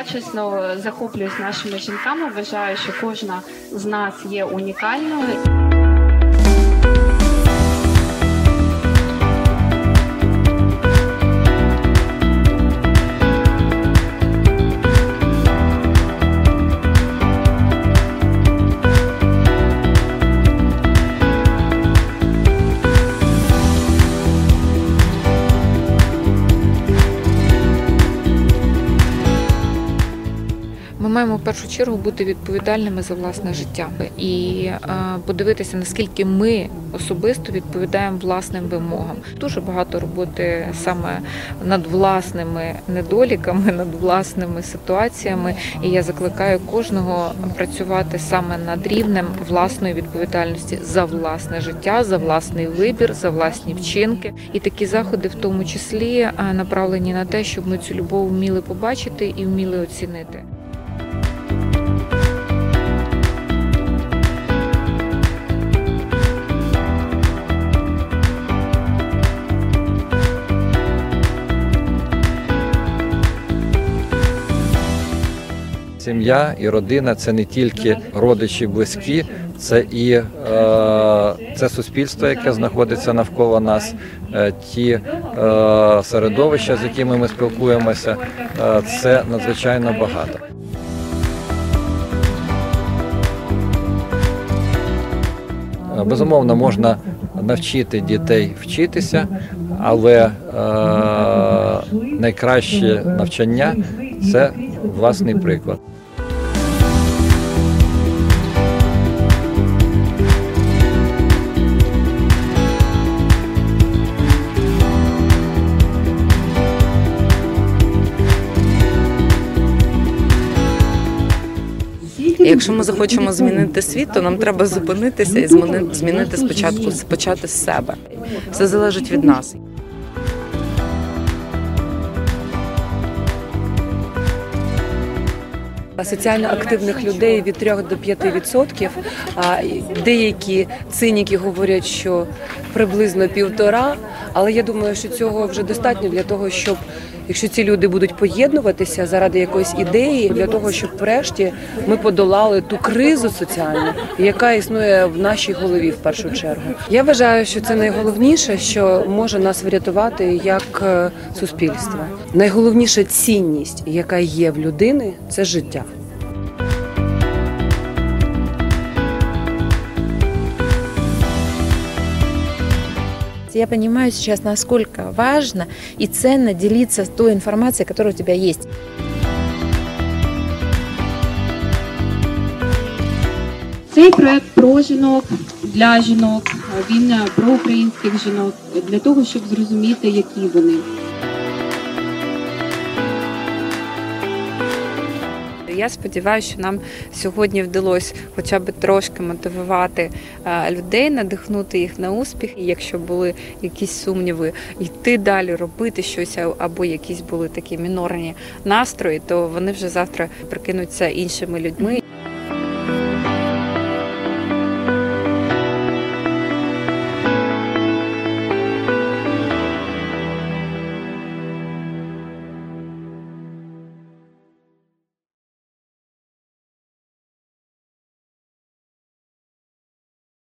Я чесно захоплююсь нашими жінками, вважаю, що кожна з нас є унікальною. Ми маємо в першу чергу бути відповідальними за власне життя і подивитися, наскільки ми особисто відповідаємо власним вимогам. Дуже багато роботи саме над власними недоліками, над власними ситуаціями. І я закликаю кожного працювати саме над рівнем власної відповідальності за власне життя, за власний вибір, за власні вчинки. І такі заходи в тому числі направлені на те, щоб ми цю любов вміли побачити і вміли оцінити. Сім'я і родина – це не тільки родичі близькі, це і це суспільство, яке знаходиться навколо нас, ті середовища, з якими ми спілкуємося, це надзвичайно багато. Безумовно, можна навчити дітей вчитися, але найкраще навчання – це власний приклад. Якщо ми захочемо змінити світ, то нам треба зупинитися і змінити спочатку, почати з себе. Все залежить від нас. Соціально активних людей від 3 до 5%, а деякі циніки говорять, що приблизно 1,5%, але я думаю, що цього вже достатньо для того, щоб, якщо ці люди будуть поєднуватися заради якоїсь ідеї, для того, щоб врешті ми подолали ту кризу соціальну, яка існує в нашій голові в першу чергу. Я вважаю, що це найголовніше, що може нас врятувати як суспільство. Найголовніша цінність, яка є в людини, це життя. Я понимаю сейчас, насколько важно и ценно делиться той информацией, которая у тебя есть. Цей проект про жінок, для жінок, він про українських жінок, для того, щоб зрозуміти, які вони. Я сподіваюся, що нам сьогодні вдалося хоча б трошки мотивувати людей, надихнути їх на успіх. І якщо були якісь сумніви, йти далі, робити щось, або якісь були такі мінорні настрої, то вони вже завтра прикинуться іншими людьми.